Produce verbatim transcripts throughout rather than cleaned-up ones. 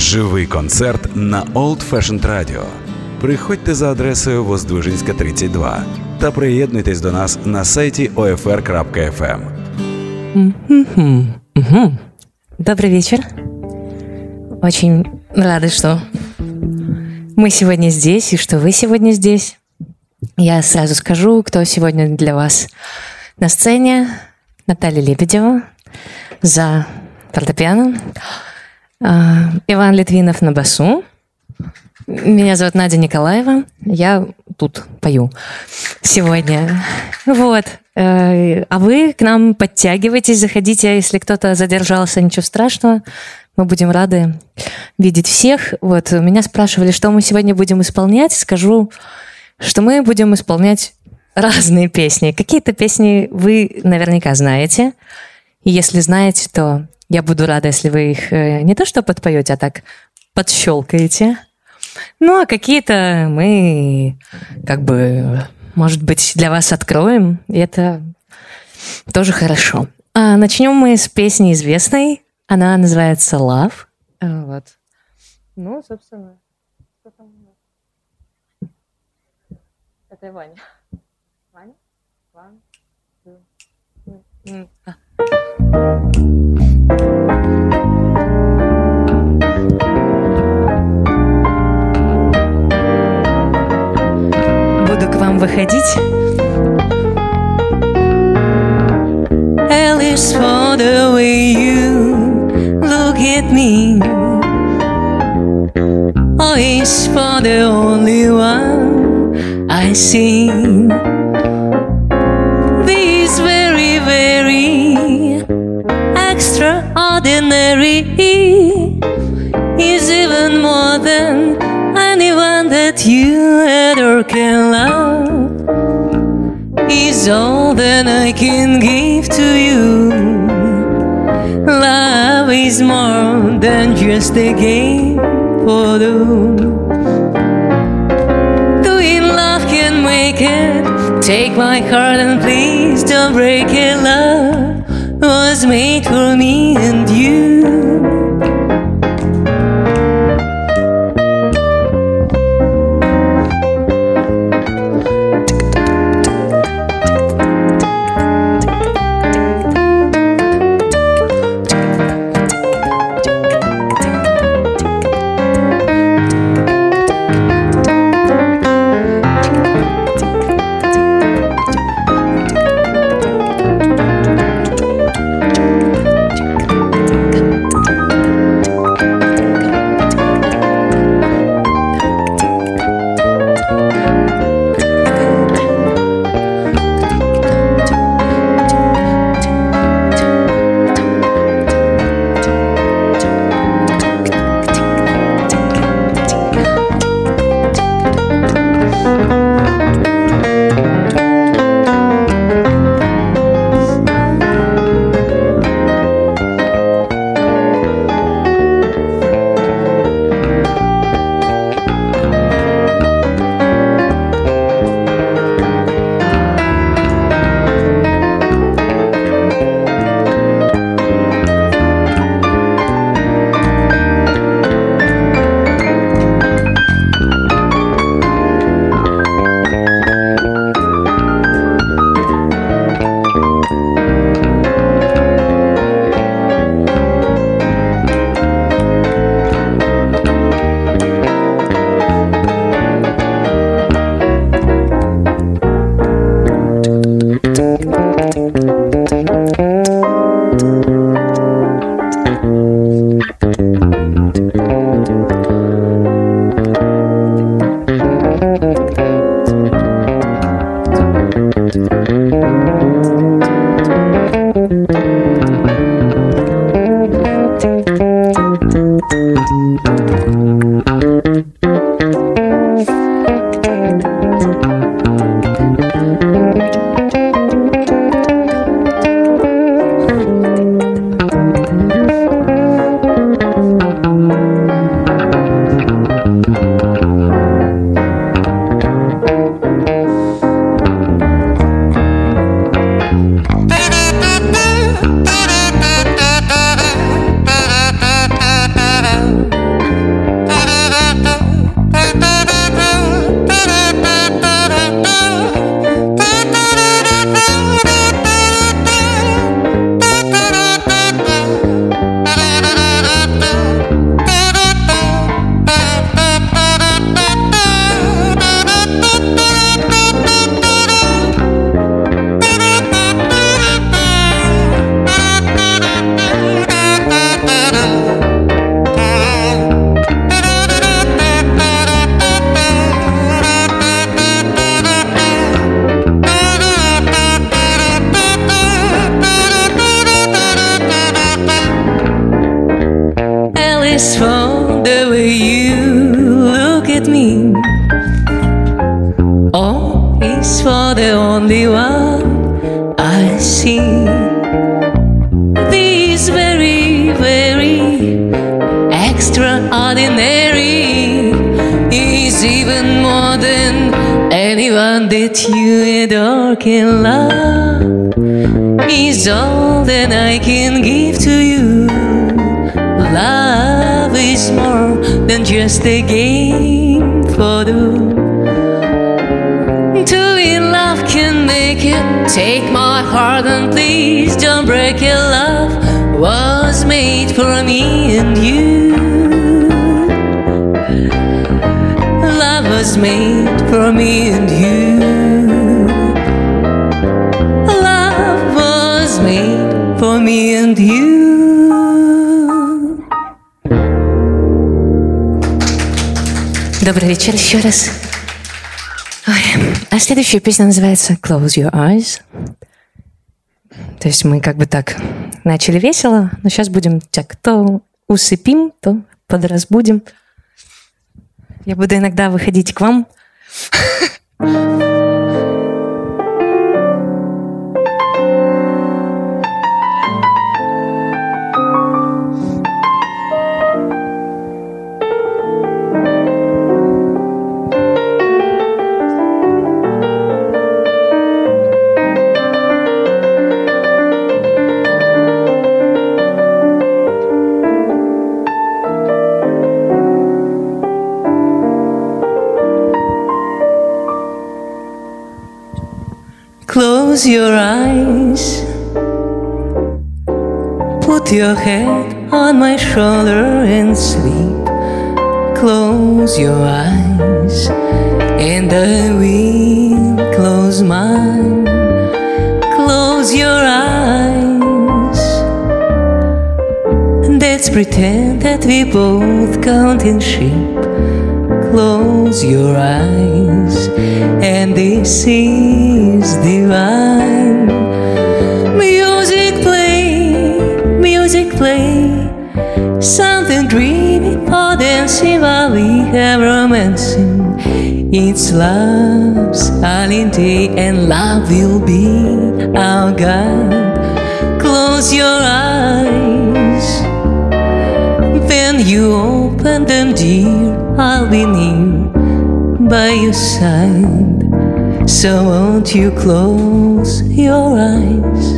Живий концерт на Old Fashioned Radio. Приходьте за адресою Воздвиженська, тридцять два та приєднуйтесь до нас на сайті о еф ар крапка еф ем. Добрый вечер. Очень рада, что мы сегодня здесь и что вы сегодня здесь. Я сразу скажу, кто сегодня для вас на сцене. Наталья Лебедева за фортепиано, Иван Литвинов на басу. Меня зовут Надя Николаева. Я тут пою сегодня. Вот. А вы к нам подтягивайтесь, заходите. Если кто-то задержался, ничего страшного. Мы будем рады видеть всех. Вот. Меня спрашивали, что мы сегодня будем исполнять. Скажу, что мы будем исполнять разные песни. Какие-то песни вы наверняка знаете. И если знаете, то я буду рада, если вы их не то что подпоете, а так подщелкаете. Ну, а какие-то мы, как бы, может быть, для вас откроем. И это тоже хорошо. А начнем мы с песни известной. Она называется «Love». Вот. Ну, собственно, что там у нас? Это Ваня. Ваня? One, two, three. А. Буду к вам выходить. L is for the way you look at me. O is for the only one I see. V is very, very extraordinary. Is even more than anyone that you ever can love. Is all that I can give to you. Love is more than just a game for two. Doing love can make it. Take my heart and please don't break it. Love was made for me and you. is for the way you look at me. O is for the only one I see. This very, very extraordinary is even more than anyone that you adore can love. Is all that I can give to you. Love is more than just a game for two. To be in love can make it. Take my heart and please don't break it. Love was made for me and you. Love was made for me and you. Love was made for me and you. Добрый вечер еще раз. Ой. А следующая песня называется «Close Your Eyes». То есть мы как бы так начали весело, но сейчас будем так то усыпим, то подразбудим. Я буду иногда выходить к вам. Close your eyes. Put your head on my shoulder and sleep. Close your eyes, and I will close mine. Close your eyes. Let's pretend that we both counting sheep. Close your eyes, and this is divine. Music play, music play, something dreamy for dancing while we have romancing. It's love's holiday and love will be our guide. Close your eyes. When you open them, dear, I'll be near by your side. So won't you close your eyes?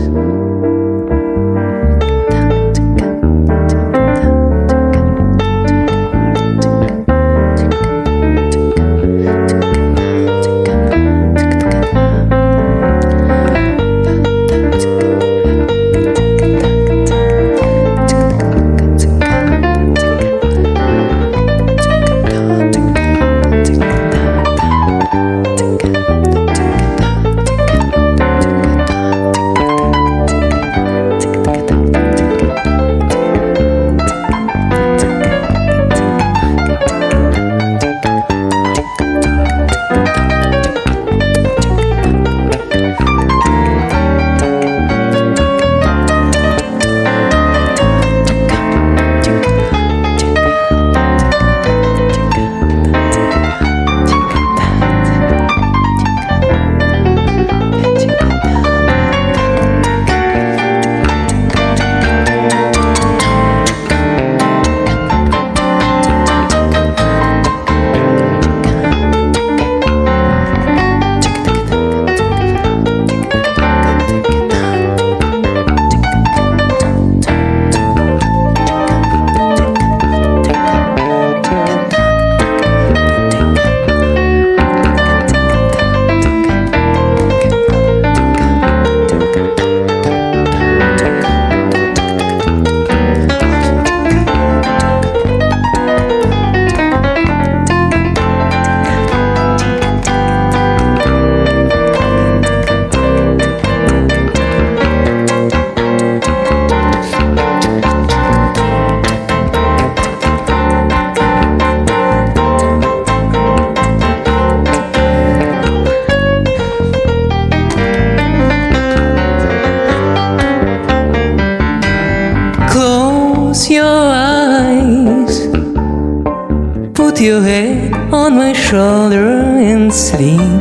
Close your eyes. Put your head on my shoulder and sleep.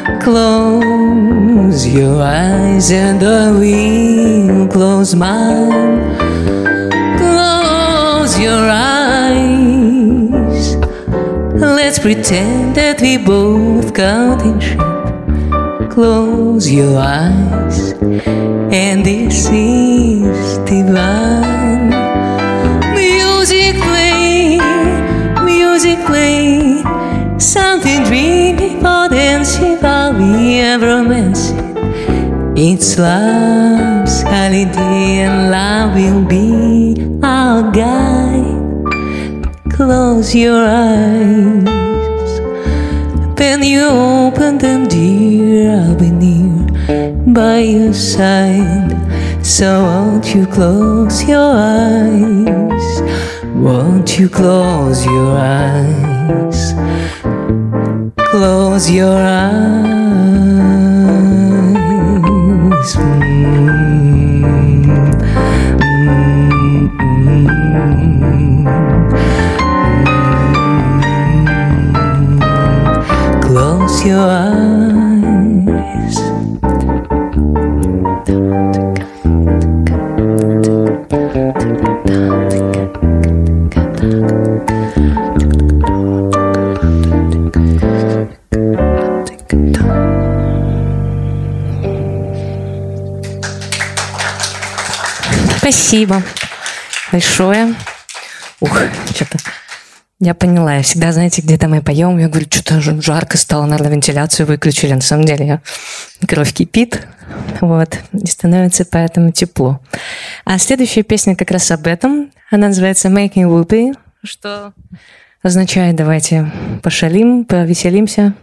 Close your eyes and I will close mine. Close your eyes. Let's pretend that we both got in shape. Close your eyes, and this is divine. Music play, music play, something dreamy, potential, we ever romancing. It's love's holiday, and love will be our guide. Close your eyes. When you open them, dear, I'll be near by your side. So won't you close your eyes? Won't you close your eyes? Close your eyes. Mm-hmm. Mm-hmm. Close your eyes. Спасибо большое. Ух, что-то я поняла. Я всегда, знаете, где-то мы поем, я говорю, что-то жарко стало, надо вентиляцию выключили. На самом деле я, кровь кипит, вот, и становится поэтому тепло. А следующая песня как раз об этом. Она называется Making Whoopee, что означает давайте пошалим, повеселимся.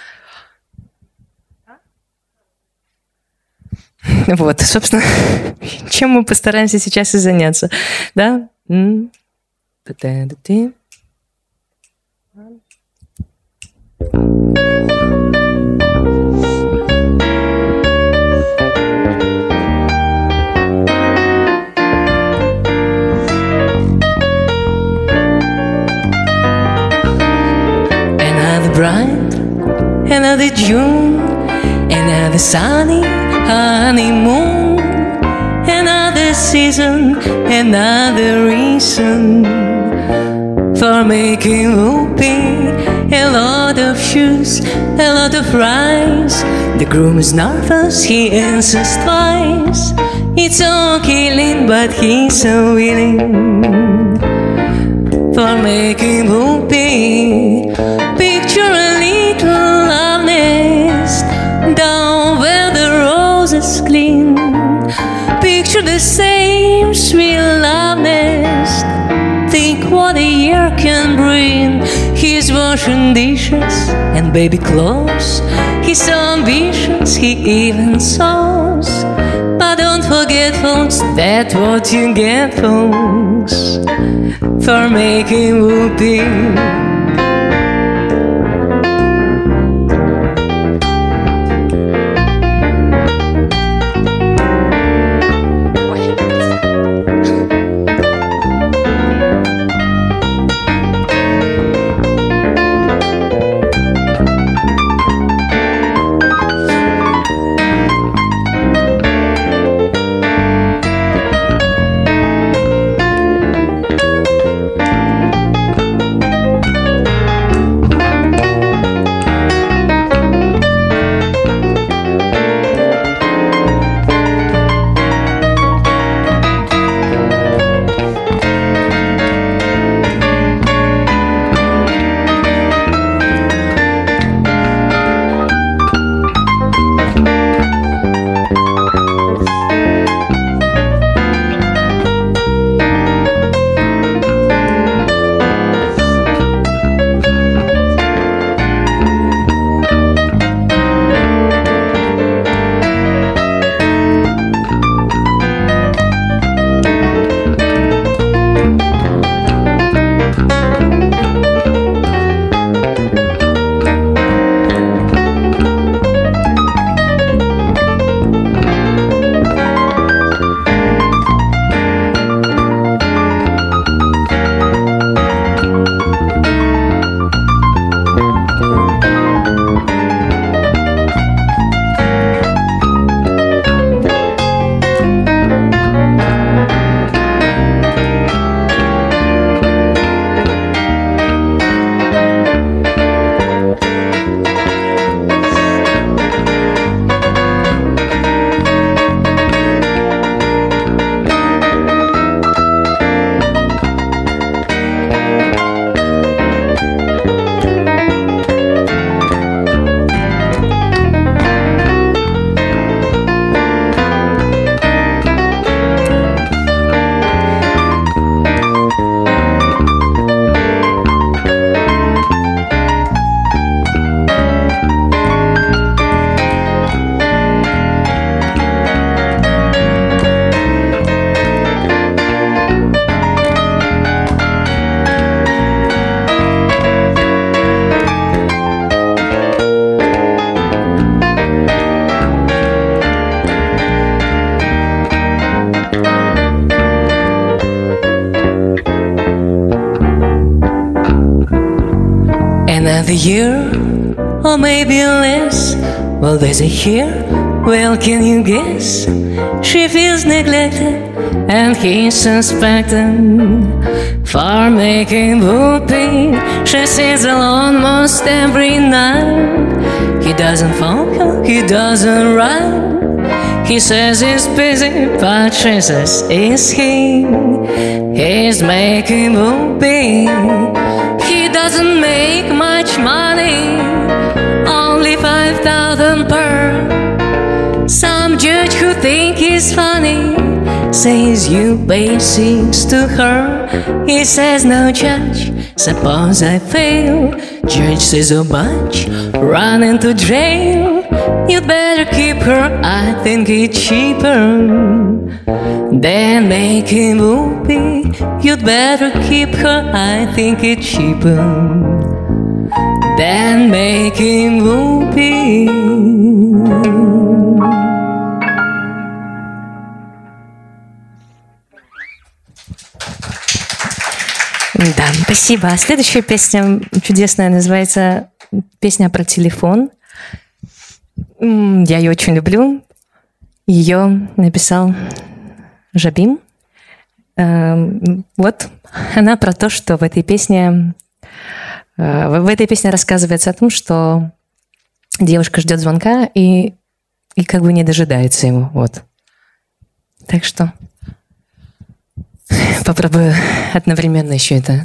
Вот, собственно, чем мы постараемся сейчас и заняться, да? Another bright, another June, another sunny honeymoon, another season, another reason for making whoopee. A lot of shoes, a lot of rice. The groom is nervous, he answers twice. It's all killing, but he's so willing for making whoopee. Picture a little love nest down where the roses clean. Picture the same sweet love nest. Think what a year can bring. He's washing dishes and baby clothes. He's so ambitious, he even sews. But don't forget, folks, that's what you get, folks, for making whoopee. a year, or maybe less. Well, there's a here, well, can you guess? She feels neglected, and he's suspecting for making whoopee. She sits alone most every night. He doesn't phone, he doesn't write. He says he's busy, but she says is he? He's making whoopee. He doesn't make much money, only five thousand per. Some judge who think he's funny says you pay six to her. He says no judge, suppose I fail. Judge says a bunch, run into jail. You'd better keep her, I think it's cheaper than making whoopee. You'd better keep her, I think it's cheaper than making whoopee. Да, спасибо. Следующая песня чудесная, называется «Песня про телефон». Я ее очень люблю. Ее написал Жабим. Вот она про то, что в этой песне в этой песне рассказывается о том, что девушка ждет звонка и, и как бы не дожидается его. Вот. Так что попробую одновременно еще это.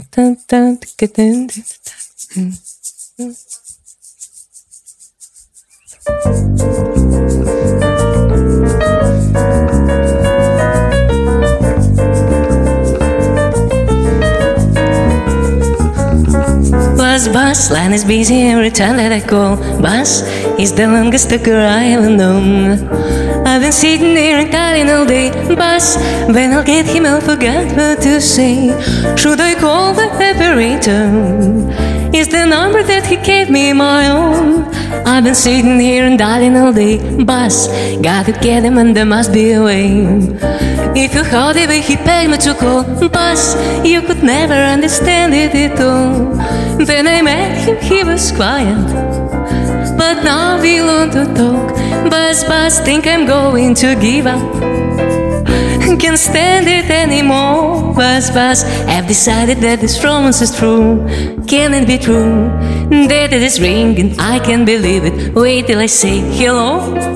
Buzz, buzz, line is busy every time that I call. Buzz is the longest talker I ever known. I've been sitting here and calling all day. Buzz, when I'll get him, I'll forget what to say. Should I call the operator? Is the number that he gave me my own? I've been sitting here and dialing all day. Buzz, gotta get him and there must be a way. If you heard the way he begged me to call, Buzz, you could never understand it at all. When I met him, he was quiet, but now we want to talk. Buzz, Buzz, think I'm going to give up. Can't stand it anymore. Buzz, Buzz, I've decided that this romance is true. Can it be true that it is ringing? I can't believe it. Wait till I say hello.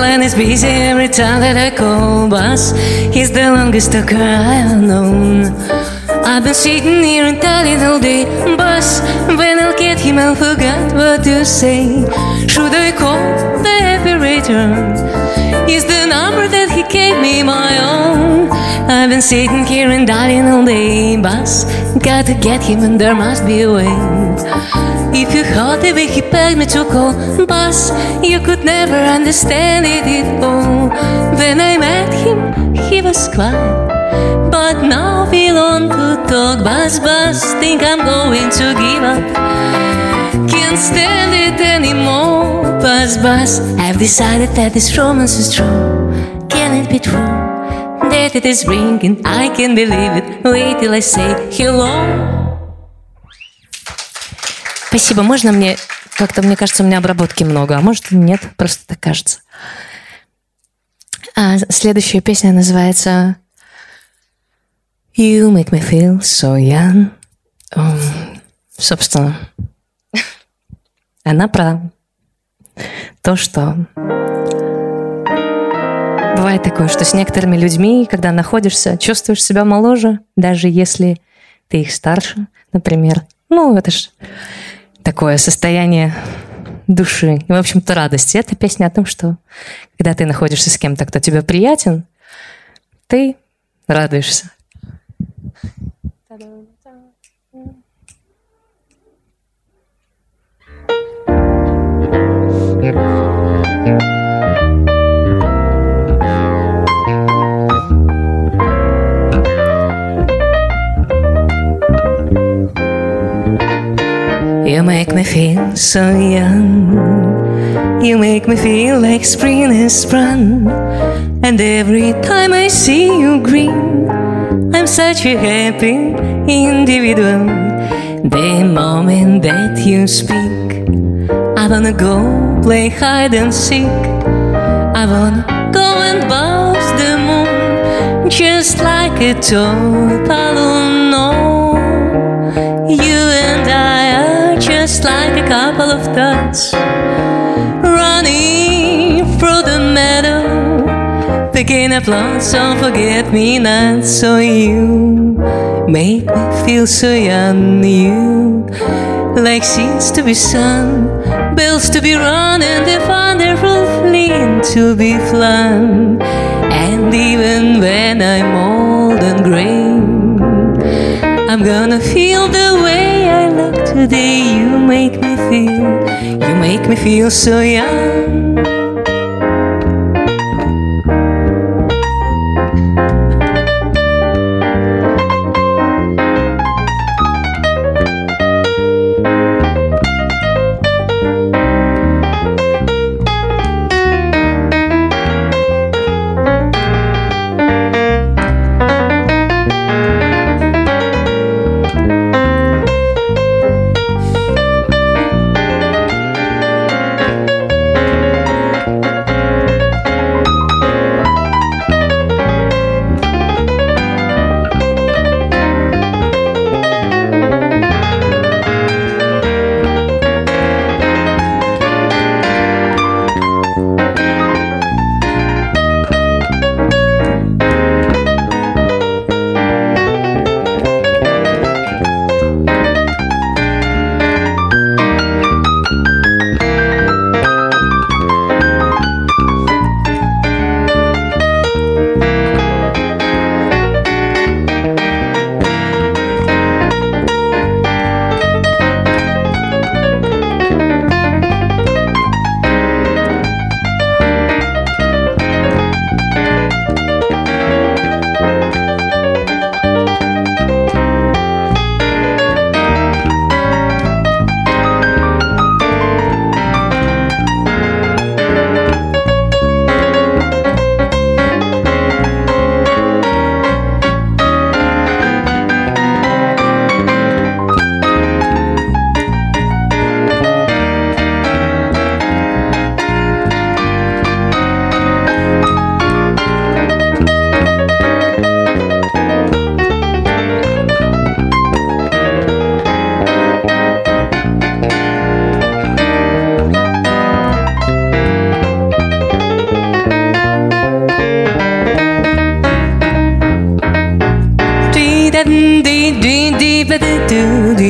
line is busy every time that I call. Bus, he's the longest talker I've known. I've been sitting here and telling all day. Bus, when I'll get him I'll forget what to say. Should I call the operator? Is the number that he gave me my own? I've been sitting here and dying all day. Bus, gotta get him and there must be a way. If you heard the way he begged me to call, Bus, you could never understand it at all. When I met him, he was quiet, but now we long to talk. Bus, Bus, think I'm going to give up. Can't stand it anymore. Bus, Bus, I've decided that this romance is true. Can it be true that it is ringing? I can't believe it. Wait till I say hello. Спасибо. Можно мне... Как-то, мне кажется, у меня обработки много, а может и нет, просто так кажется. А следующая песня называется You Make Me Feel So Young. Um, собственно, она про то, что бывает такое, что с некоторыми людьми, когда находишься, чувствуешь себя моложе, даже если ты их старше, например. Ну, это ж такое состояние души и, в общем-то, радости. Это песня о том, что когда ты находишься с кем-то, кто тебе приятен, ты радуешься. You make me feel so young. You make me feel like spring has sprung. And every time I see you grin, I'm such a happy individual. The moment that you speak, I wanna go play hide and seek. I wanna go and bounce the moon, just like a toy balloon. No, you and I are just like a couple of dots running through the meadow, picking up lots of forget-me-nots. So you make me feel so young. You like seeds to be sown, bells to be run, and a wonderful flint to be flung. And even when I'm old and grey, I'm gonna feel the way I look today. You make me feel, you make me feel so young.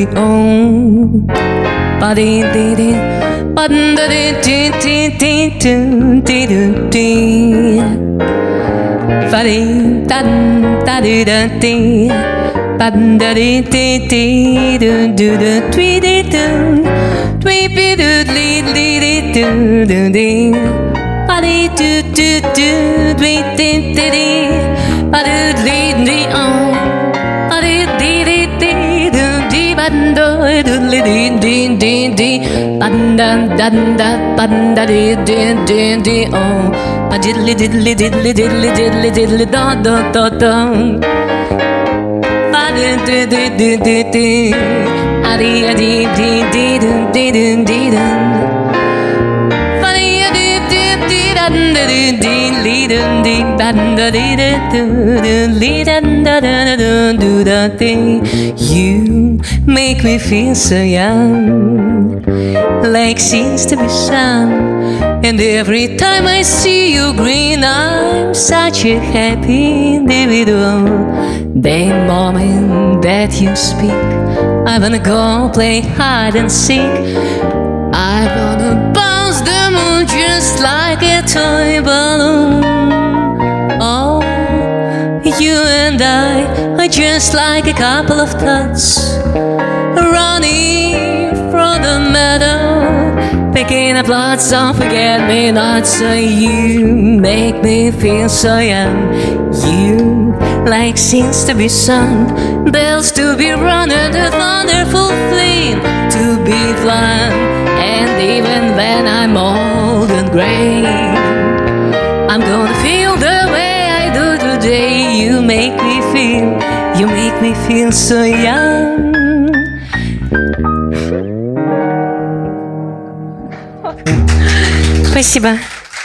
di om. Ba di di di, ba da di di di di di di di di. Fa di da da di da di, ba da di di di do do do dwi di do, dwi bi do li li di do do di. Ba di do do do dwi di di di, ba do li li om. Ba di di di di do di ba do do li di di di di, ba da da da ba da di di di di om. Ba diddly diddly diddly diddly diddly diddly da da da da. Ba di di di di di di, adi adi di di di di di di di. Ba di adi di di da da di di li da di ba da di di di li da da da da do da di. You make me feel so young, like seems to be sun. And every time I see you grin, I'm such a happy individual. The moment that you speak, I wanna go play hide and seek. I wanna bounce the moon just like a toy balloon. Oh, you and I are just like a couple of tots running from the meadow, picking up lots of forget-me-nots. So you make me feel so young. You like scenes to be sung, bells to be rung, and a wonderful flame to be flung. And even when I'm old and grey, I'm gonna feel the way I do today. You make me feel, you make me feel so young. Спасибо.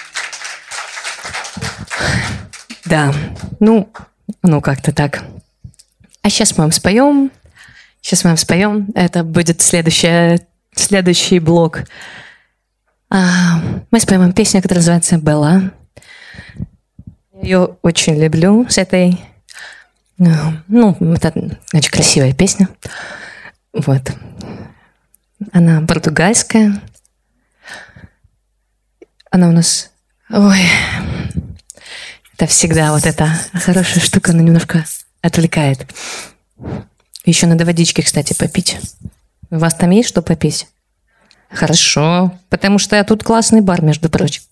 Да, ну, ну как-то так. А сейчас мы вам споем. Сейчас мы вам споем. Это будет следующая, следующий блок. А, мы споем вам песню, которая называется «Белла». Я ее очень люблю с этой... Ну, это очень красивая песня. Вот. Она португальская. Она у нас... Ой... Это всегда вот эта хорошая штука, она немножко отвлекает. Еще надо водички, кстати, попить. У вас там есть что попить? Хорошо, потому что тут классный бар, между прочим.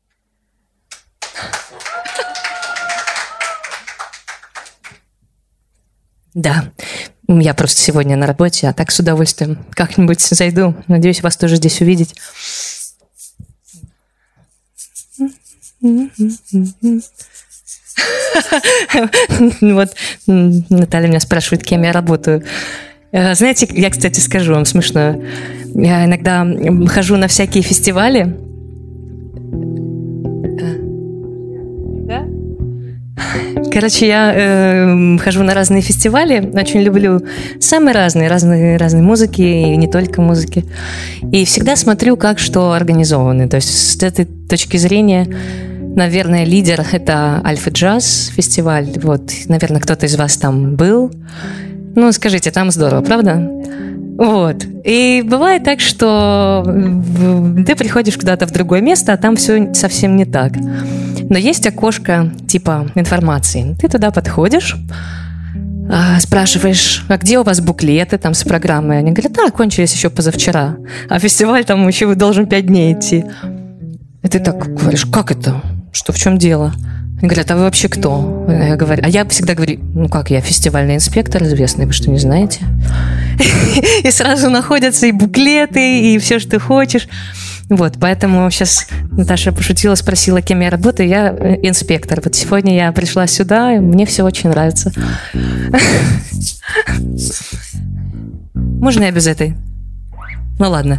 Да, я просто сегодня на работе, а так с удовольствием как-нибудь зайду. Надеюсь, вас тоже здесь увидеть. Вот Наталья меня спрашивает, кем я работаю. Знаете, я, кстати, скажу вам смешно. Я иногда хожу на всякие фестивали. Короче, я э, хожу на разные фестивали, очень люблю самые разные, разные, разные музыки, и не только музыки. И всегда смотрю, как что организовано. То есть с этой точки зрения, наверное, лидер — это Альфа Джаз фестиваль. Вот, наверное, кто-то из вас там был. Ну, скажите, там здорово, правда? Вот. И бывает так, что ты приходишь куда-то в другое место, а там все совсем не так. Но есть окошко типа информации. Ты туда подходишь, спрашиваешь, а где у вас буклеты там с программой? Они говорят, да, кончились еще позавчера. А фестиваль там еще должен пять дней идти. И ты так говоришь, как это? Что, в чем дело? Они говорят, а вы вообще кто? Я говорю, а я всегда говорю, ну как, я фестивальный инспектор известный, вы что, не знаете? И сразу находятся и буклеты, и все, что ты хочешь. Вот, поэтому сейчас Наташа пошутила, спросила, кем я работаю. Я инспектор. Вот сегодня я пришла сюда, и мне все очень нравится. Можно я без этой? Ну ладно.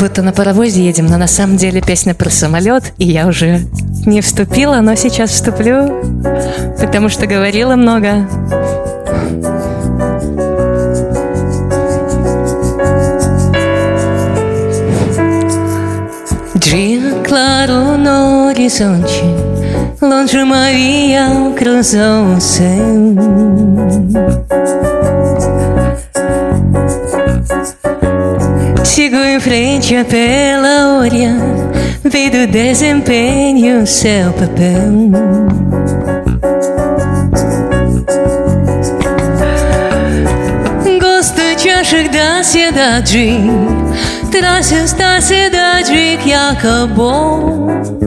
будто на паровозе едем, но на самом деле песня про самолет, и я уже не вступила, но сейчас вступлю, потому что говорила много. Dia claro no horizonte, longe uma via cruzou o céu. Sigo em frente pela orla, vi do desempenho seu papel. Gosto de achar da cidade, traços da cidade que acabou.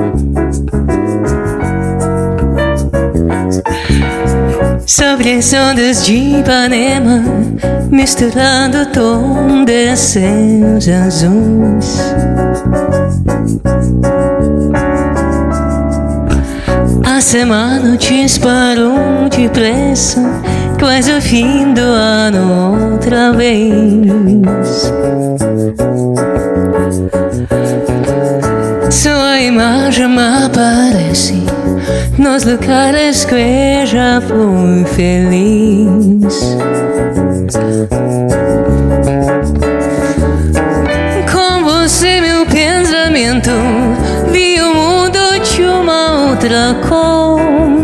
Sobre as ondas de Ipanema, misturando o tom de céus azuis. A semana disparou depressa, quase o fim do ano outra vez. Sua imagem me aparece nos lugares que eu já fui feliz. Com você meu pensamento vi o mundo de uma outra cor.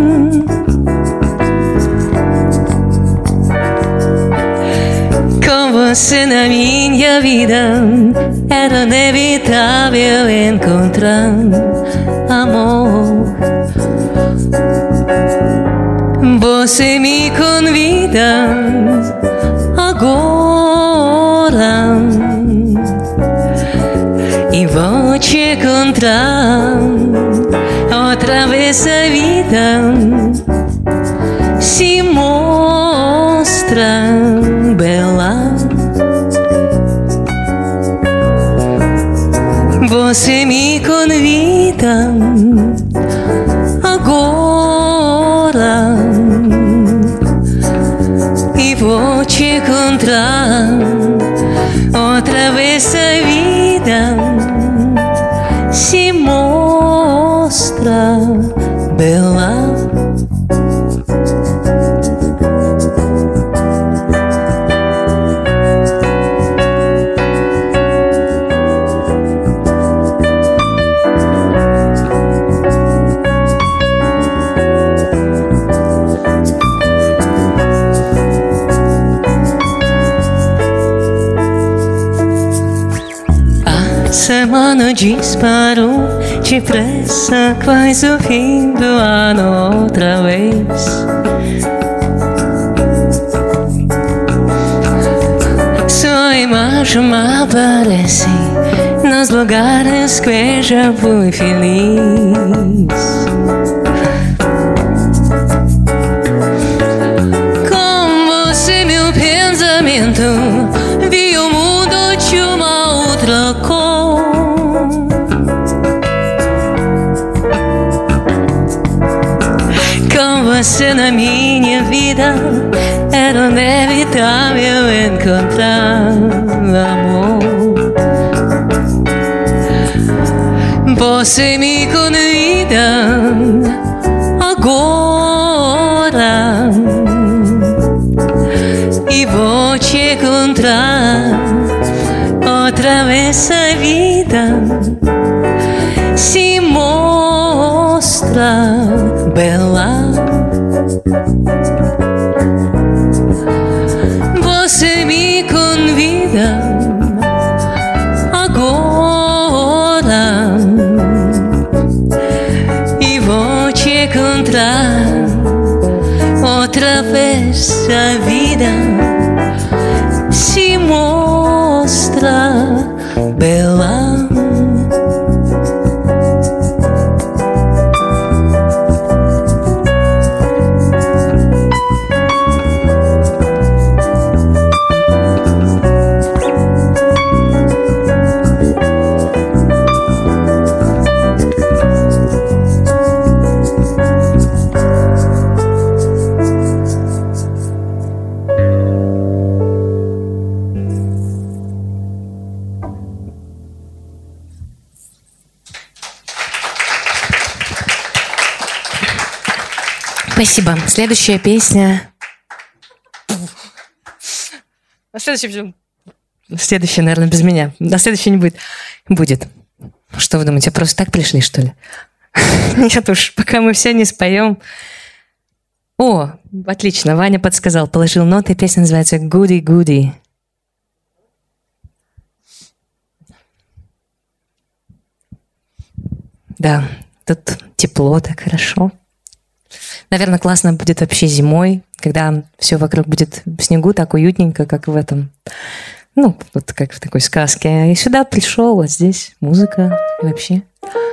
Com você na minha vida era inevitável encontrar amor. Você me convida agora e vou te encontrar outra vez. A vida se mostra bela. Você me convida agora e vou te encontrar outra vez. A vida se mostra bela. Semana disparou depressa, quase o fim do ano outra vez. Sua imagem me aparece nos lugares que eu já fui feliz. Com você meu pensamento vi o mundo de uma outra cor. Você na minha vida era inevitável encontrar amor. Você me convida agora e vou te encontrar outra vez. A vida se mostra bela. Você me convida agora e vou te encontrar outra vez. A vida se mostra bela. Спасибо. Следующая песня. Следующая, следующая, наверное, без меня. На следующая не будет. Будет. Что вы думаете, просто так пришли, что ли? Нет уж, пока мы все не споем. О, отлично, Ваня подсказал, положил ноты. Песня называется «Goody Goody». Да, тут тепло, так хорошо. Наверное, классно будет вообще зимой, когда все вокруг будет в снегу, так уютненько, как в этом, ну, вот как в такой сказке. И сюда пришел, а здесь музыка и вообще.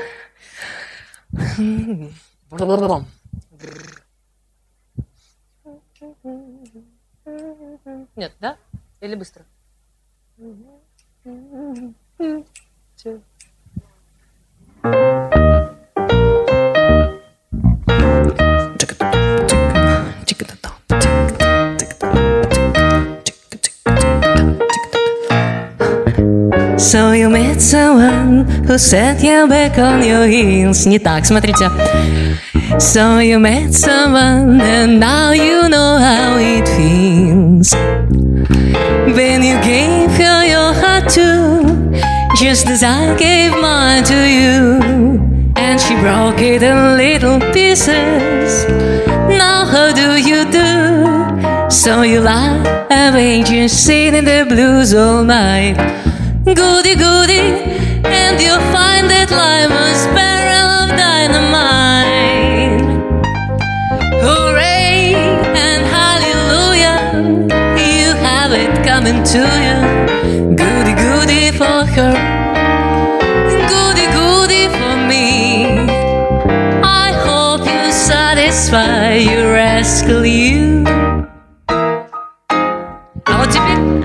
Нет, да? Или быстро? So you met someone who set you back on your heels. Не так, смотрите. So you met someone and now you know how it feels. When you gave her your heart too, just as I gave mine to you. And she broke it in little pieces. Now how do you do? So you lie awake, just sitting in the blues all night. Goody goody, and you'll find that life was barrel of dynamite. Hooray and hallelujah, you have it coming to you. Goody goody for her, goody goody for me. I hope you satisfy your rascal you. А вот теперь.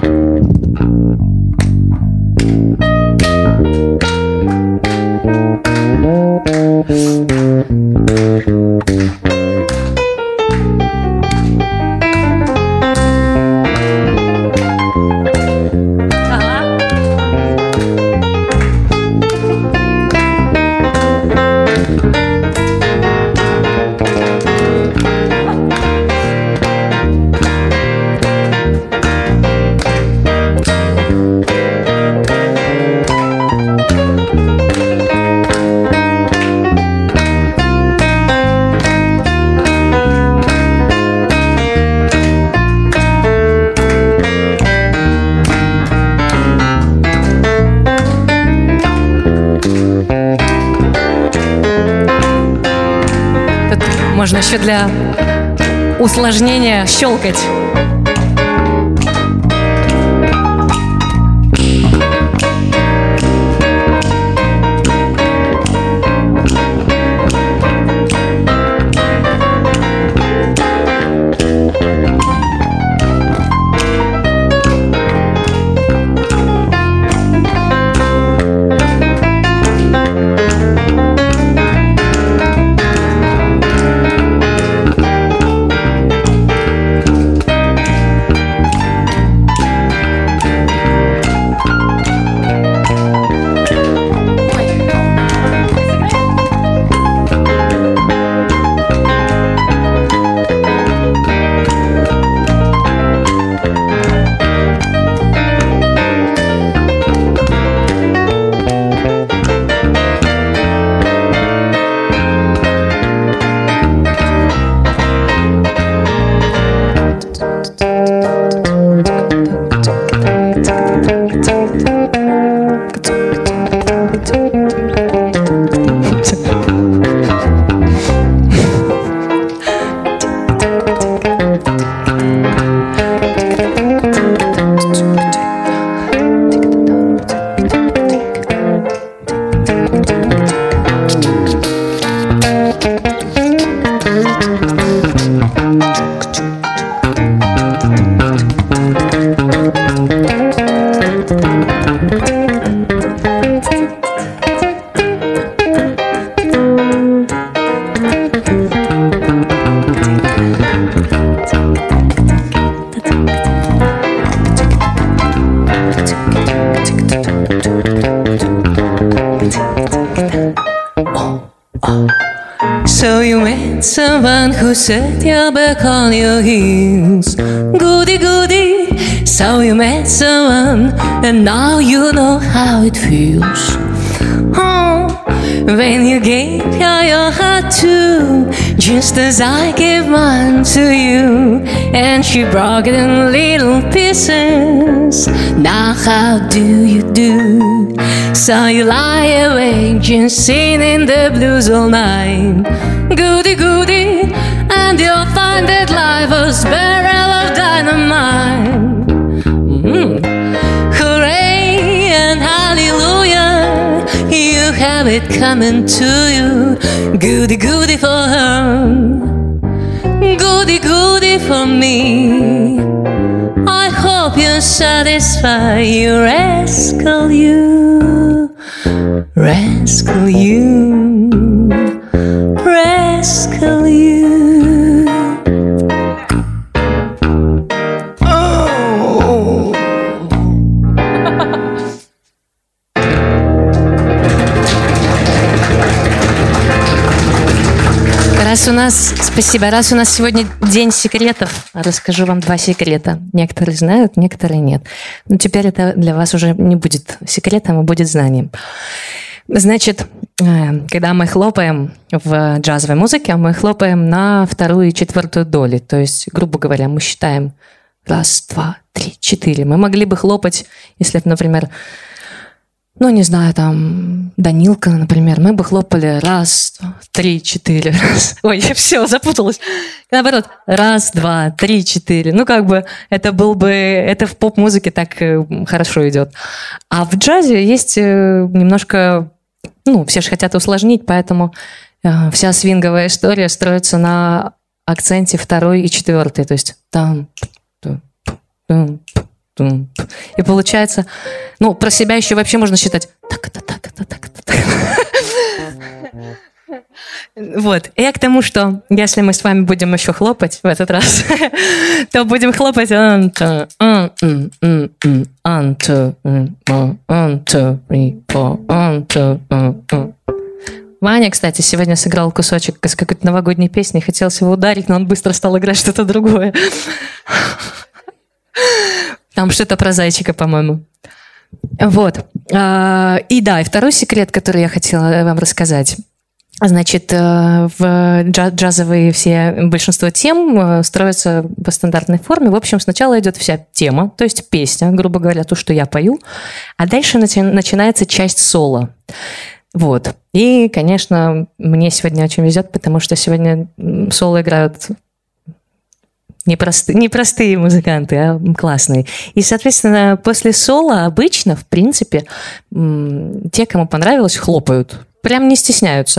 Можно еще для усложнения щелкать. set your back on your heels. Goody, goody, so you met someone, and now you know how it feels. Oh, when you gave her your heart too, just as I gave mine to you, and she broke it in little pieces. Now how do you do? So you lie awake just singing the blues all night. Goody, goody, and you'll find that life was barrel of dynamite. Mm. Hooray and hallelujah, you have it coming to you. Goody, goody for her, goody, goody for me. I hope you're satisfied, you rascal you, rascal you, rascal you. Раз у нас, спасибо, раз у нас сегодня день секретов, расскажу вам два секрета. Некоторые знают, некоторые нет. Но теперь это для вас уже не будет секретом, а будет знанием. Значит, когда мы хлопаем в джазовой музыке, мы хлопаем на вторую и четвертую доли. То есть, грубо говоря, мы считаем раз, два, три, четыре. Мы могли бы хлопать, если, например, ну, не знаю, там, Данилка, например, мы бы хлопали раз, два, три, четыре, раз. Ой, все, запуталась. Наоборот, раз, два, три, четыре. Ну, как бы, это был бы, это в поп-музыке так хорошо идет. А в джазе есть немножко, ну, все же хотят усложнить, поэтому вся свинговая история строится на акценте второй и четвертой. То есть там, там, там. И получается, ну, про себя еще вообще можно считать так, это, так, это, так, это, так. Вот. И я к тому, что если мы с вами будем еще хлопать в этот раз, то будем хлопать. Ваня, кстати, сегодня сыграл кусочек из какой-то новогодней песни, хотелось его ударить, но он быстро стал играть что-то другое. Там что-то про зайчика, по-моему. Вот. И да, и второй секрет, который я хотела вам рассказать. Значит, в джазовые все, большинство тем строятся по стандартной форме. В общем, сначала идет вся тема, то есть песня, грубо говоря, то, что я пою, а дальше начинается часть соло. Вот. И, конечно, мне сегодня очень везет, потому что сегодня соло играют непростые, непростые музыканты, а классные. И, соответственно, после соло обычно, в принципе, те, кому понравилось, хлопают. Прям не стесняются.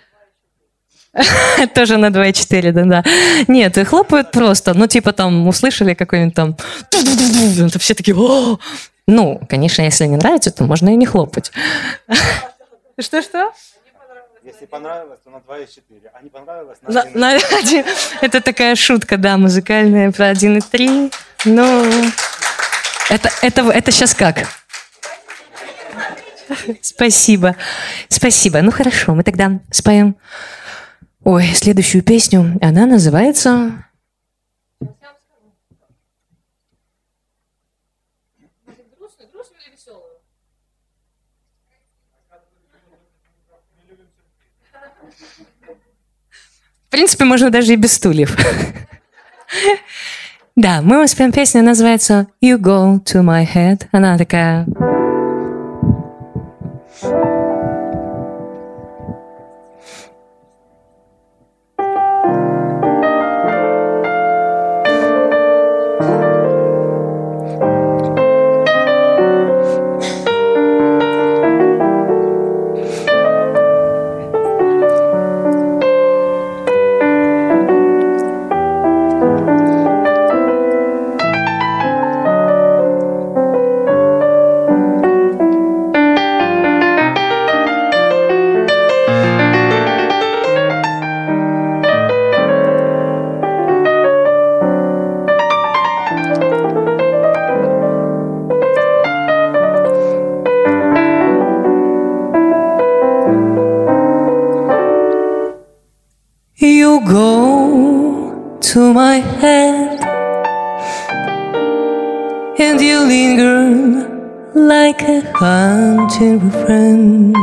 Тоже на два и четыре, да-да. Нет, хлопают просто. Ну, типа там услышали какой-нибудь там... Все такие... Ну, конечно, если не нравится, то можно и не хлопать. Что-что? Если понравилось, то на два и четыре. А не понравилось, на один и три. Это такая шутка, да, музыкальная про один и три. Ну, это, это, это сейчас как? Спасибо. Спасибо. Ну, хорошо, мы тогда споем, ой, следующую песню. Она называется... В принципе, можно даже и без стульев. Да, мы воспоем песню, называется «You Go To My Head». Она такая... to my head, and you linger like a haunting friend,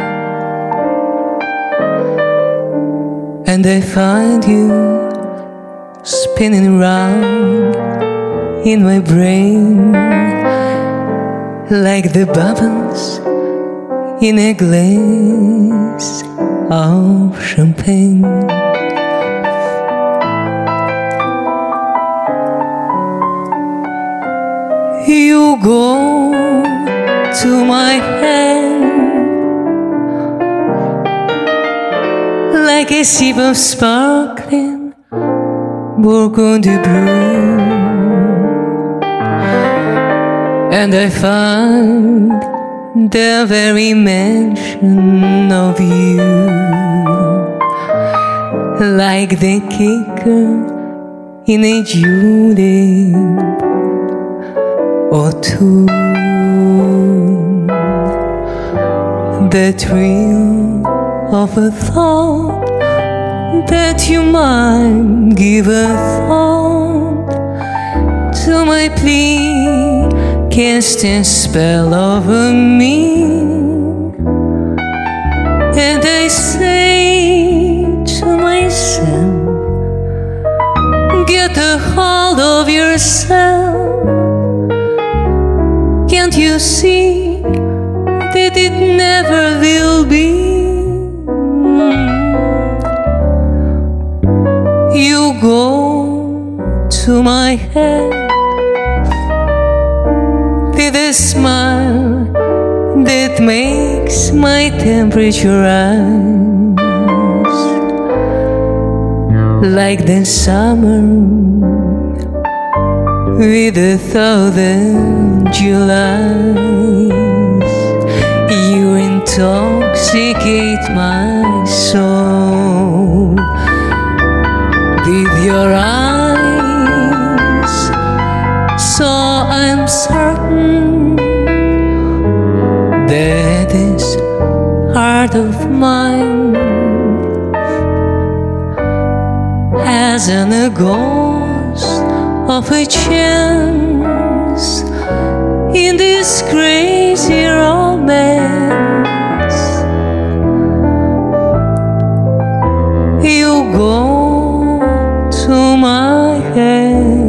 and I find you spinning round in my brain like the bubbles in a glass of champagne. You go to my head like a sip of sparkling Burgundy brew, and I find the very mention of you like the kicker in a julep or two. The thrill of a thought that you might give a thought to my plea, cast a spell over me, and I say to myself, get a hold of yourself. Can't you see that it never will be? You go to my head with a smile that makes my temperature rise like the summer with a thousand Julys. You intoxicate my soul with your eyes, so I'm certain that this heart of mine hasn't a ghost of a chance in this crazy romance. You go to my head.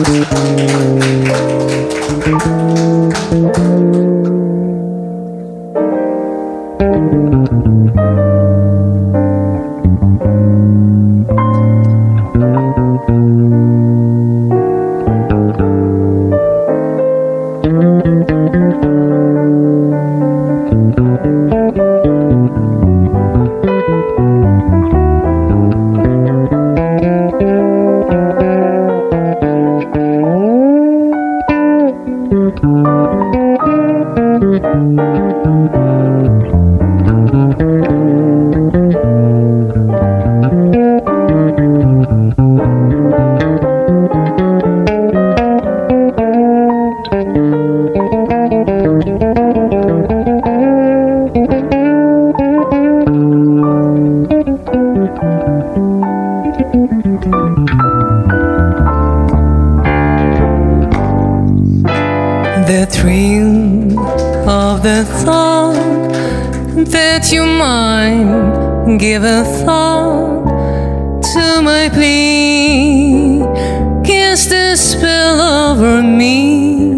The thrill of the thought that you might give a thought to my plea cast a spell over me.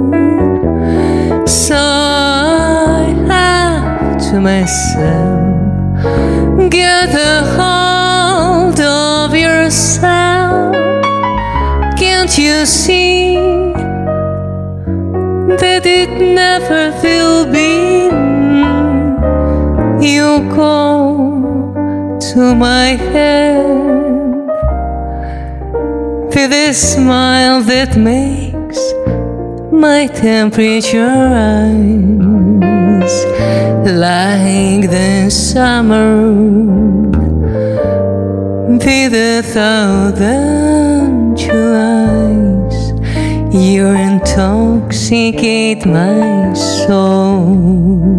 So I have to myself, get a hold of yourself. Can't you see that it never will be? You go to my head with a smile that makes my temperature rise like the summer with a thousand Julys. You intoxicate my soul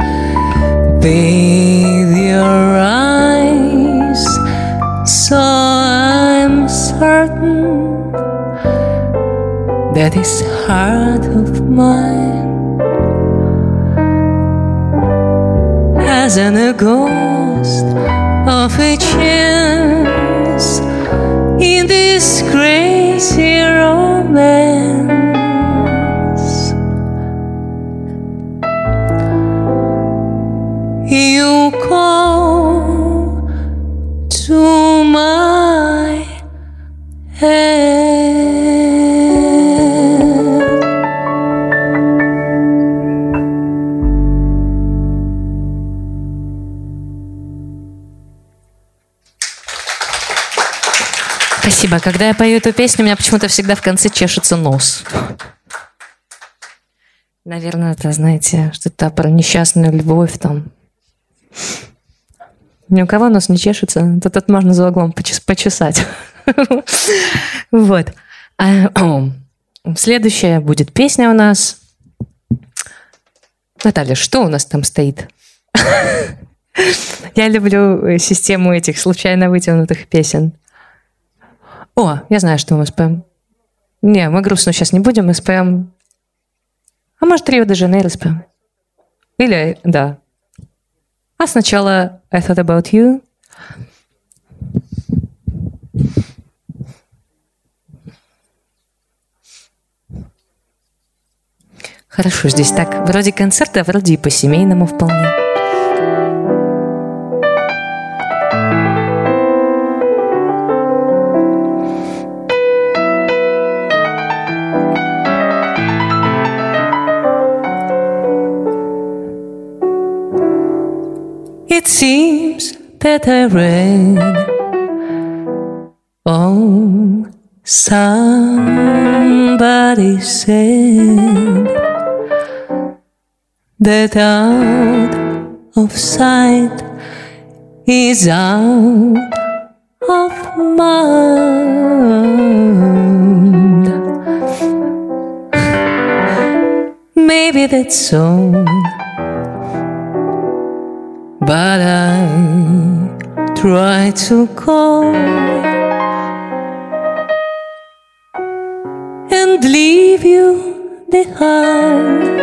with your eyes, so I'm certain that this heart of mine hasn't a ghost of a chance in this crazy romance. You go to my head. Спасибо. Когда я пою эту песню, у меня почему-то всегда в конце чешется нос. Наверное, это, знаете, что-то про несчастную любовь там. Ни у кого нос не чешется, то тут можно за углом почесать. Вот. Следующая будет песня у нас. Наталья, что у нас там стоит? Я люблю систему этих случайно вытянутых песен. О, я знаю, что мы споем. Не, мы грустно сейчас не будем, мы споем... А может, Рио-де-Жанейро споем? Или, да. А сначала I Thought About You. Хорошо, здесь так, вроде концерта, вроде и по-семейному вполне. It seems that I read oh, somebody said that out of sight is out of mind. Maybe that's so, but I try to call and leave you behind.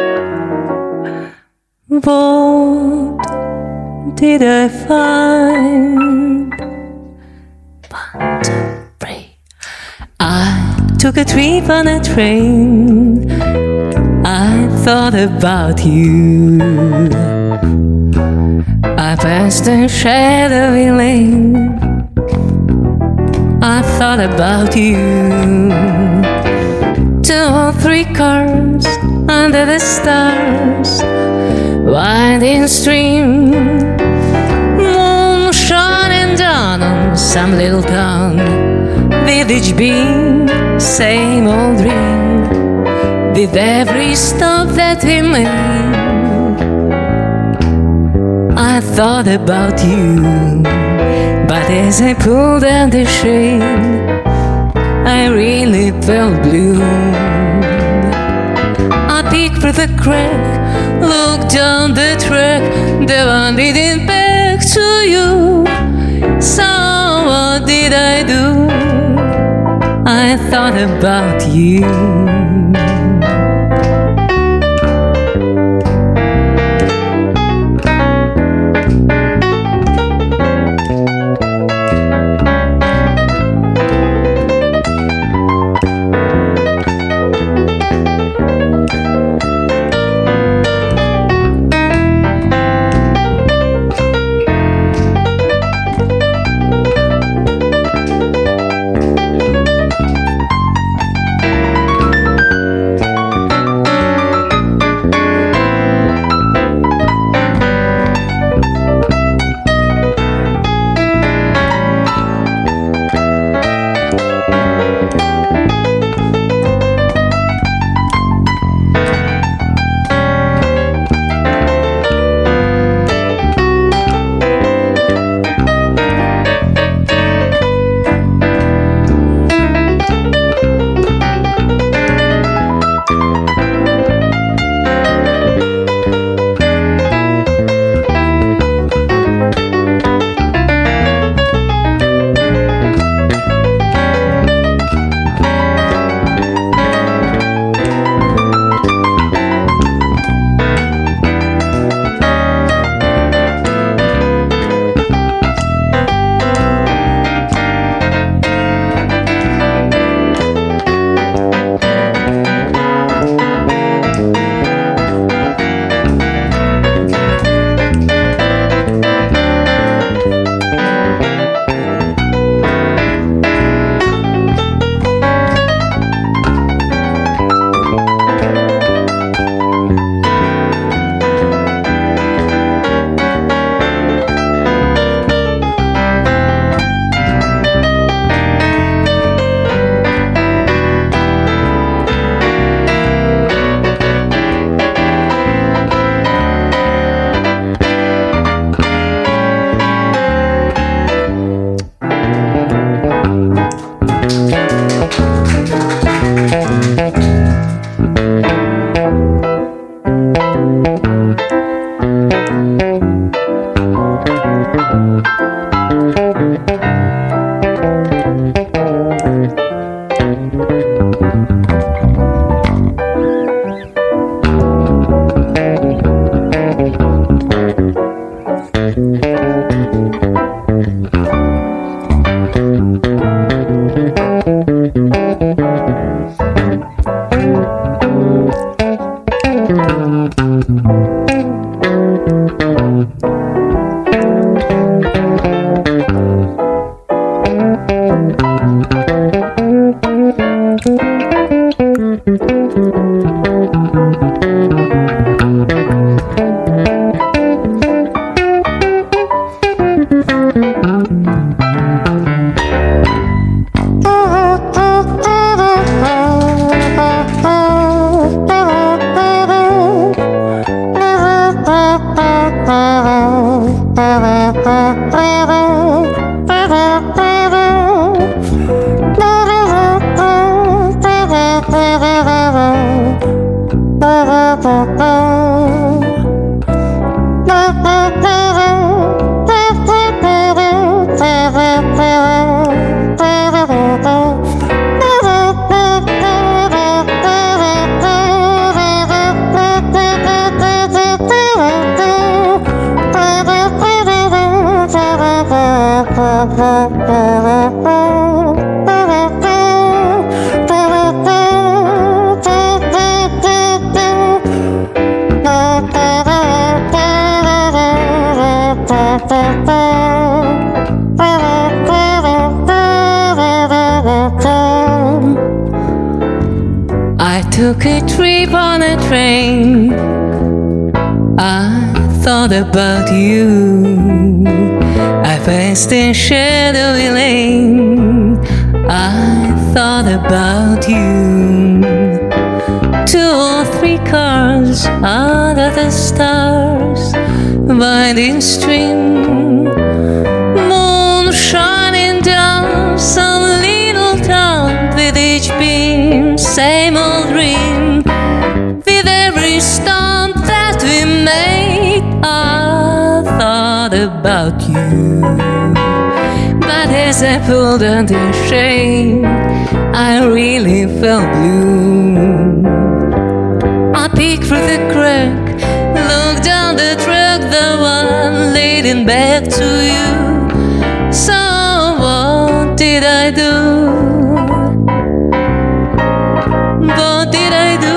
What did I find? One, two, three. I took a trip on a train, I thought about you. I passed a shadowy lane, I thought about you. Two or three cars under the stars, winding stream, moon shining down on some little town. Village beam, same old dream, with every stop that we made. I thought about you, but as I pulled down the shade, I really felt blue. I peeked through the crack, looked down the track, the one leading back to you. So what did I do? I thought about you. took a trip on a train. I thought about you. I passed a shadowy lane. I thought about you. Two or three cars under the stars, winding stream, moon shining down some little town with each beam, same old dream. With every stump that we made, I thought about you. But as I pulled on the shade, I really felt blue. I peeked through the crack, looked down the track, the one leading back to you. So what did I do? What did I do?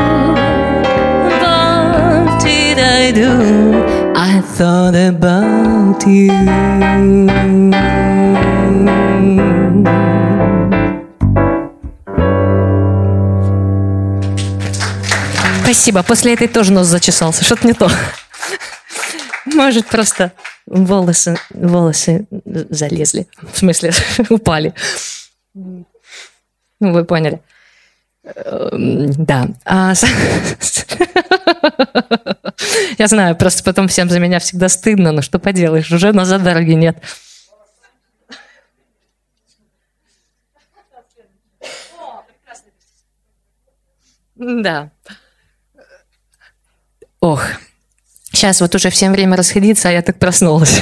What did I do? I thought about you. Спасибо. После этой тоже нос зачесался. Что-то не то. Может, просто волосы, волосы залезли. В смысле, упали. Ну, вы поняли. Да. А... Я знаю, просто потом всем за меня всегда стыдно, но что поделаешь, уже назад дороги нет. Да. Ох, сейчас вот уже всем время расходиться, а я так проснулась.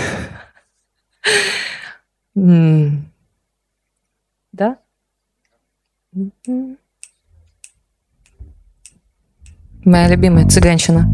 Да? Моя любимая цыганщина.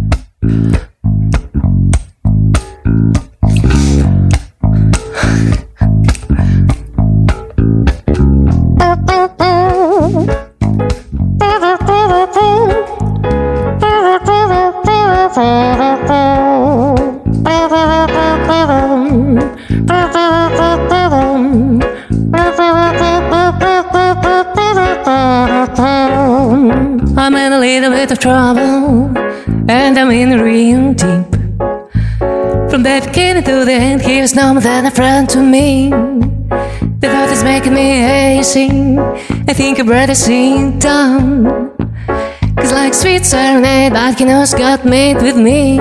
I'm in a little bit of trouble, and I'm in real deep. From the beginning to the end, he was no more than a friend to me. The thought is making me hazy. I think I'd rather sit down. Cause like sweet serenade, that canoe's got made with me.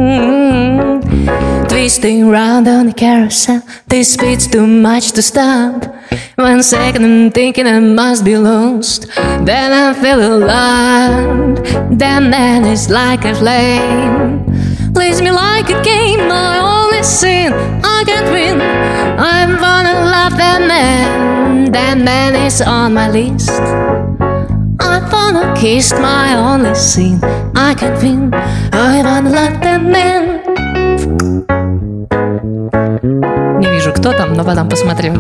Twisting round on the carousel, this speed's too much to stop. One second I'm thinking I must be lost, then I feel alive. That man is like a flame, plays me like a game, my only sin, I can't win. I'm gonna love that man, that man is on my list. I wanna kiss my only sin, I can't win. I wanna love that man. Не вижу, кто там, но потом посмотрю.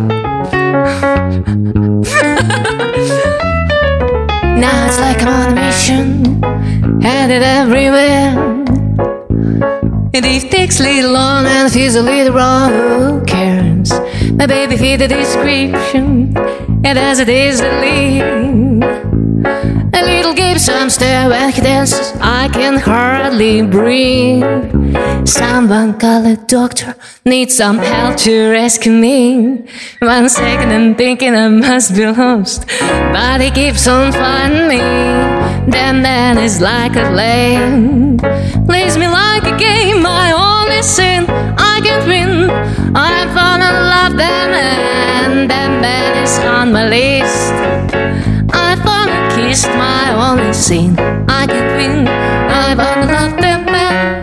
Now it's like I'm on a mission, headed everywhere. And if it takes a little long and feels a little wrong, who cares? My baby fit the description, and as it is the lead. A little Gibson stare when he dances, I can hardly breathe. Someone call a doctor, need some help to rescue me. One second I'm thinking I must be lost, but he keeps on finding me. That man is like a flame, plays me like a game, my only sin, I can't win. I wanna love that man, that man is on my list. I wanna kiss my only sin, I can't win. I wanna love that man.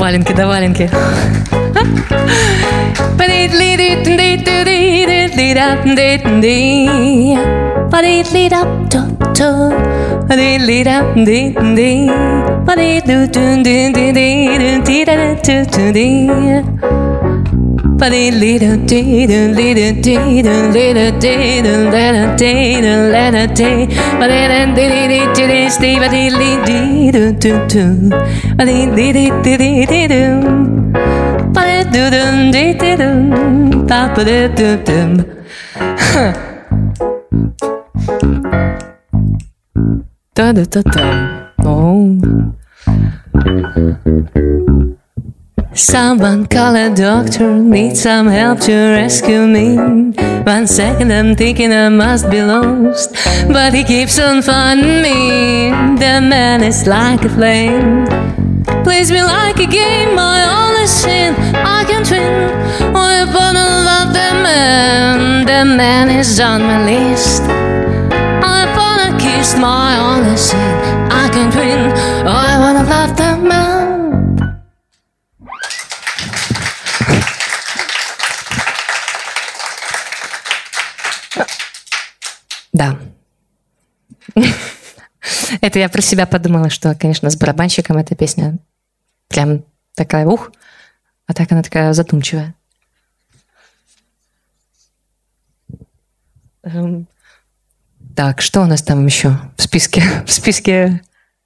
Валенки да валенки. Та-да-та-та. Oh. Someone call a doctor, need some help to rescue me. One second I'm thinking I must be lost, but he keeps on finding me. The man is like a flame, plays me like a game, my only sin I can't win. I wanna love the man, the man is on my list. I wanna kiss my only sin I can't win. I wanna love the man. Да. Это я про себя подумала, что, конечно, с барабанщиком эта песня прям такая ух, а так она такая задумчивая. Эм, так, что у нас там еще в списке? В списке...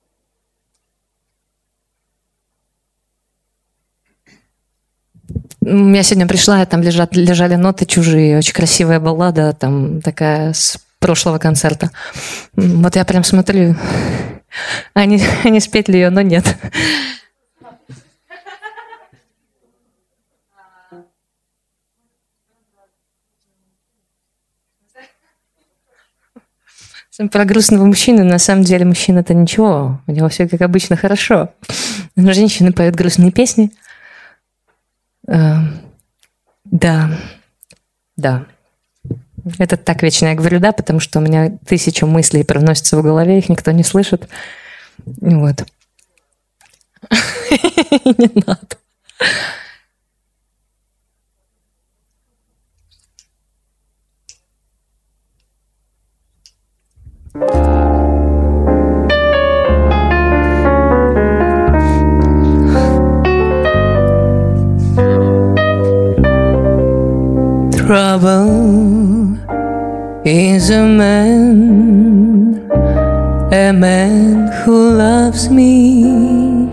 Я сегодня пришла, и там лежат, лежали ноты чужие, очень красивая баллада, там такая с прошлого концерта. Вот я прям смотрю, а не, а не спеть ли ее, но нет. Про грустного мужчину, на самом деле мужчина-то ничего, у него все как обычно хорошо. Но женщины поют грустные песни. Uh, да, да. Это так вечно я говорю «да», потому что у меня тысяча мыслей проносятся в голове, их никто не слышит. Вот. Не надо. Trouble is a man, a man who loves me.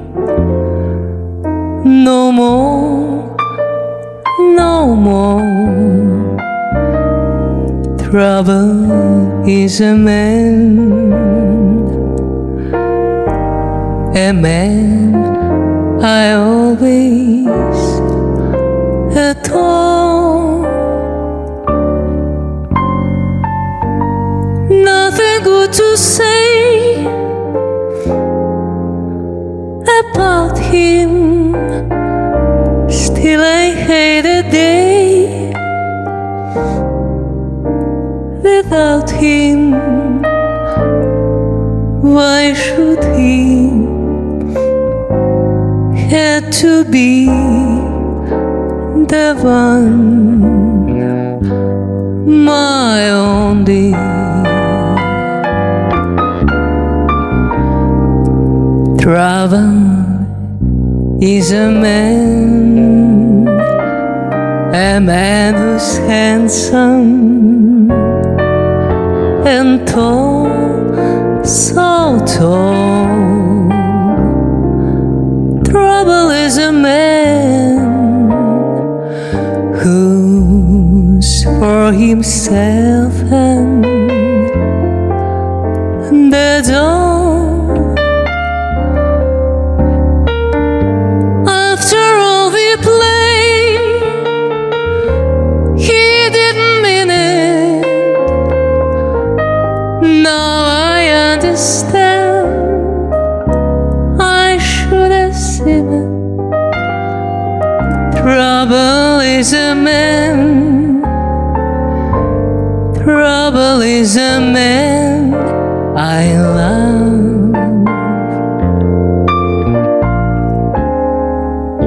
No more, no more. Trouble is a man, a man I always adore. Nothing good to say about him. Still I hate a day without him. Why should he have to be the one, my only? Trouble is a man, a man who's handsome and tall, so tall. Trouble is a man who's for himself and that's all. Trouble is a man, trouble is a man I love.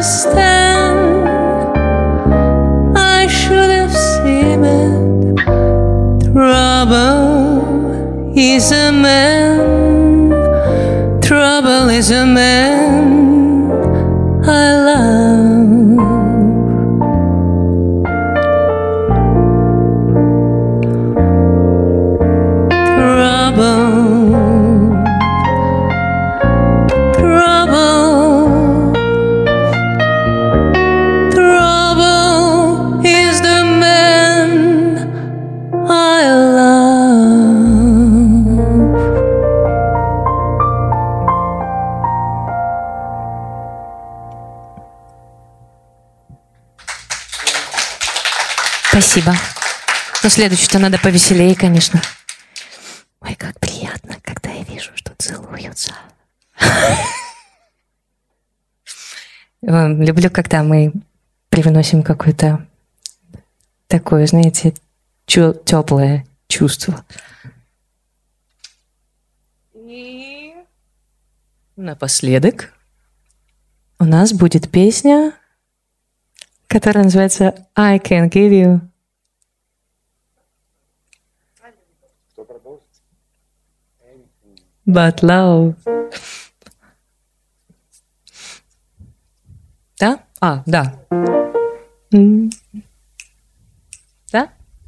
understand. I should have seen it. Trouble is a man. Trouble is a man I love. Спасибо. Но следующее-то надо повеселее, конечно. Ой, как приятно, когда я вижу, что целуются. Люблю, когда мы привносим какое-то такое, знаете, теплое чувство. И напоследок у нас будет песня, которая называется I Can Give You. But love. Да? А, да. М. Да?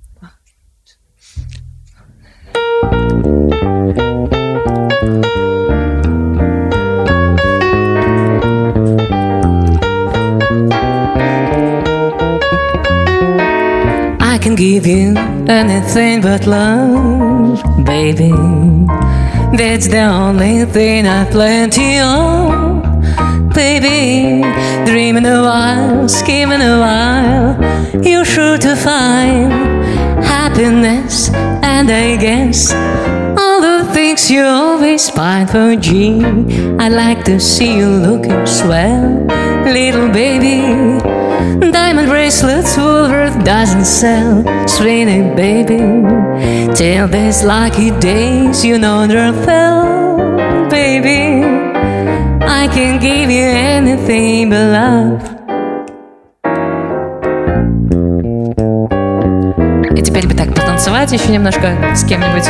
I can give you anything but love, baby. That's the only thing I plenty of, baby. Dreaming a while, scheming a while, you're sure to find happiness. And I guess all the things you always find for G. I like to see you looking swell, little baby. Diamond bracelets Woolworth doesn't sell, sweetie baby. Till these lucky days you know they're fell, baby. I can give you anything but love. И теперь бы так потанцевать еще немножко с кем-нибудь.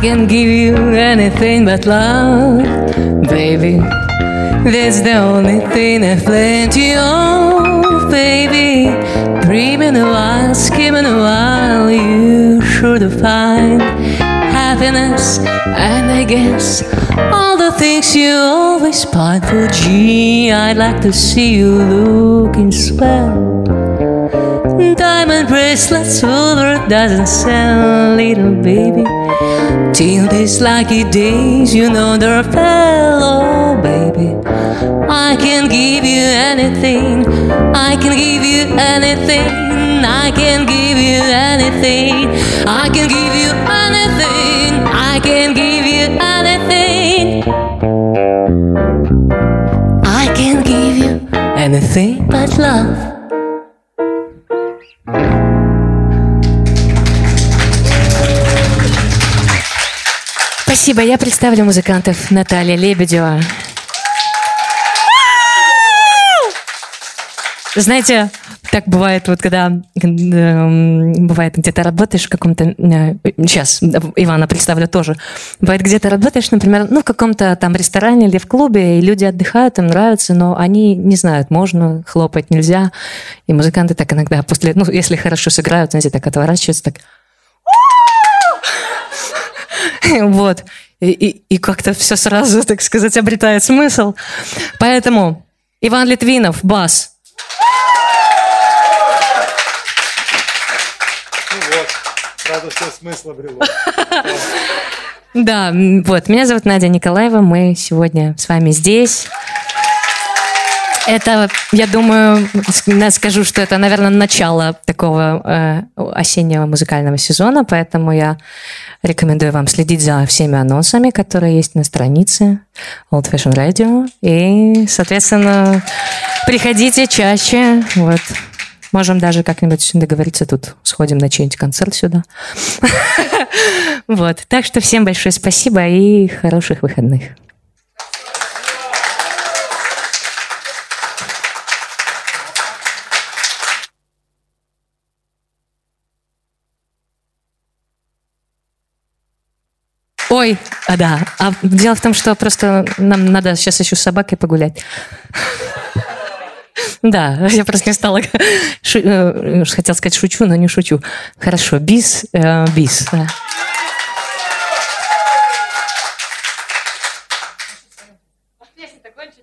can give you anything but love, baby. That's the only thing I've plenty of, baby. Dreaming a while, skimming a while, you sure to find happiness. And I guess all the things you always find for. Gee, I'd like to see you looking swell. Diamond bracelets, silver doesn't sell, little baby. Till these lucky days, you know they're fellow, baby. I can give you anything, I can give you anything, I can give you anything, I can give you anything, I can give you anything, I can give you anything but love. Спасибо. Я представлю музыкантов. Наталья Лебедева. Знаете, так бывает, вот когда э, бывает где-то работаешь в каком-то... Э, сейчас Ивана представлю тоже. Бывает, где-то работаешь, например, ну, в каком-то там ресторане или в клубе, и люди отдыхают, им нравится, но они не знают, можно хлопать, нельзя. И музыканты так иногда после... Ну, если хорошо сыграют, знаете, так отворачиваются, так... Вот. И, и, и как-то все сразу, так сказать, обретает смысл. Поэтому Иван Литвинов, бас. Ну вот, сразу все смысл обрело. Да, вот. Меня зовут Надя Николаева. Мы сегодня с вами здесь. Это, я думаю, скажу, что это, наверное, начало такого э, осеннего музыкального сезона, поэтому я рекомендую вам следить за всеми анонсами, которые есть на странице Old Fashion Radio. И, соответственно, приходите чаще. Вот. Можем даже как-нибудь договориться тут. Сходим на чей-нибудь концерт сюда. Вот. Так что всем большое спасибо и хороших выходных. Ой, а да. А дело в том, что просто нам надо сейчас еще с собакой погулять. Да, я просто не стала... Шу... Хотела сказать шучу, но не шучу. Хорошо, бис, э, бис. Песни-то кончились.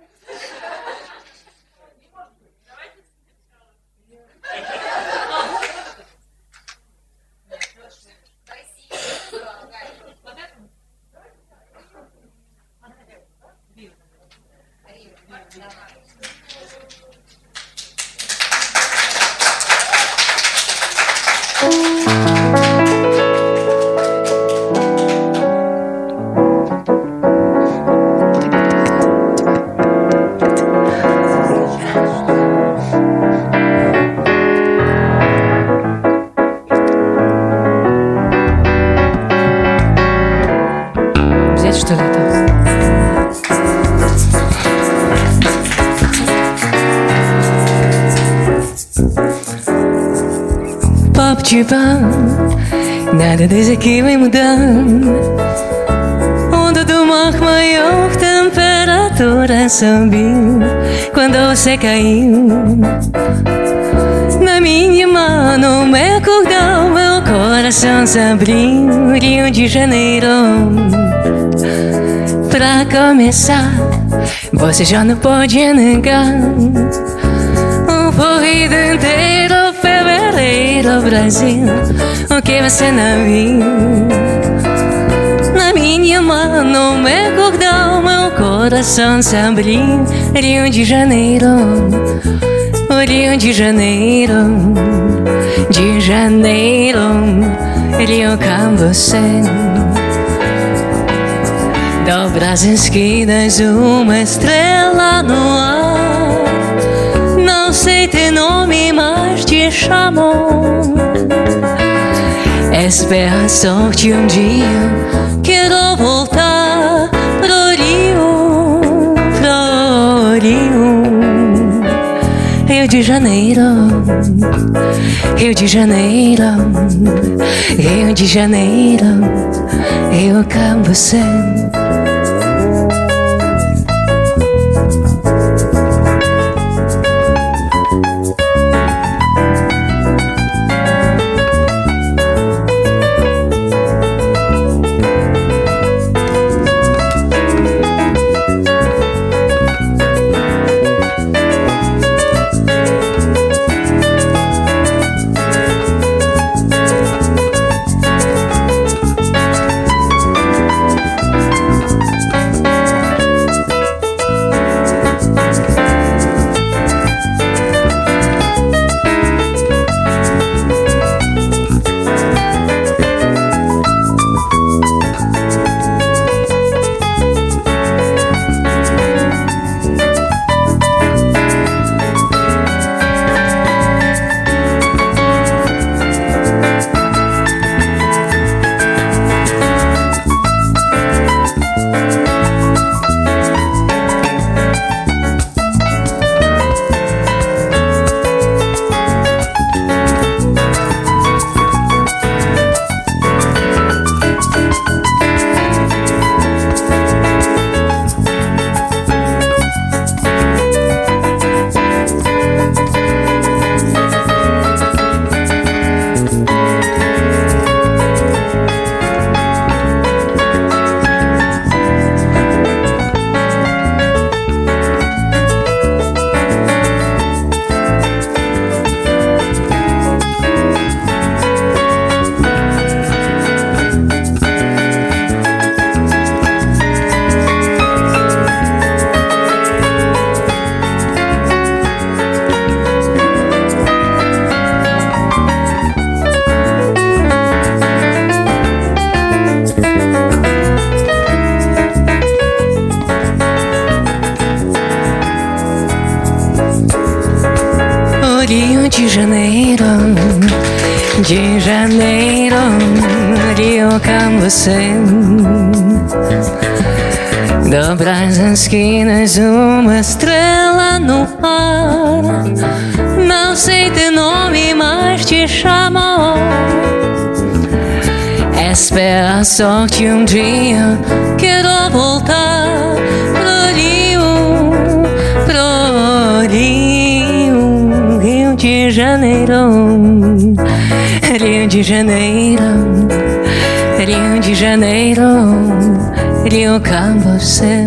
Что ли это? Папчипа, nada desde que me mudando. Onda do mar maior, temperatura subiu quando você caiu. Na minha mão, meu cordão, meu coração se abriu. Rio de Janeiro. Pra começar, você já não pode negar. Um corrido inteiro, fevereiro, Brasil. O que você não viu? Na minha mão, meu cordão, meu coração se abriu. Rio de Janeiro, Rio de Janeiro, de Janeiro, Rio com você. Dobra as esquinas, uma estrela no ar. Não sei teu nome, mas te chamo. Espera a sorte um dia. Quero voltar pro Rio, pro Rio. Rio de Janeiro, Rio de Janeiro, Rio de Janeiro, você. Rio de Janeiro, de Janeiro, Rio com você. Dobras as esquinas, uma estrela no ar. Não sei teu nome, mas te chamo. Espera só que um dia quero voltar pro Rio, pro Rio, Rio de Janeiro, Rio de Janeiro, Rio de Janeiro, Rio com você.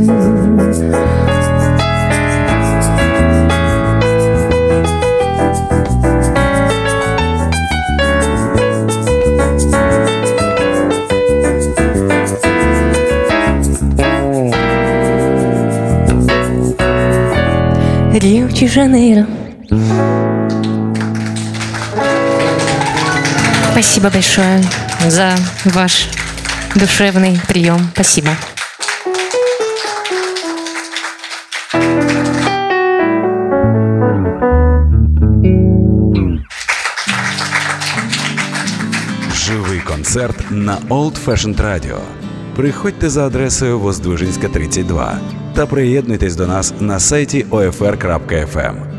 Rio de Janeiro. Спасибо большое за ваш душевный прием. Спасибо. Живий концерт на Old Fashioned Radio. Приходьте за адресою Воздвиженська, тридцять два та приєднуйтесь до нас на сайті о еф ер крапка еф ем.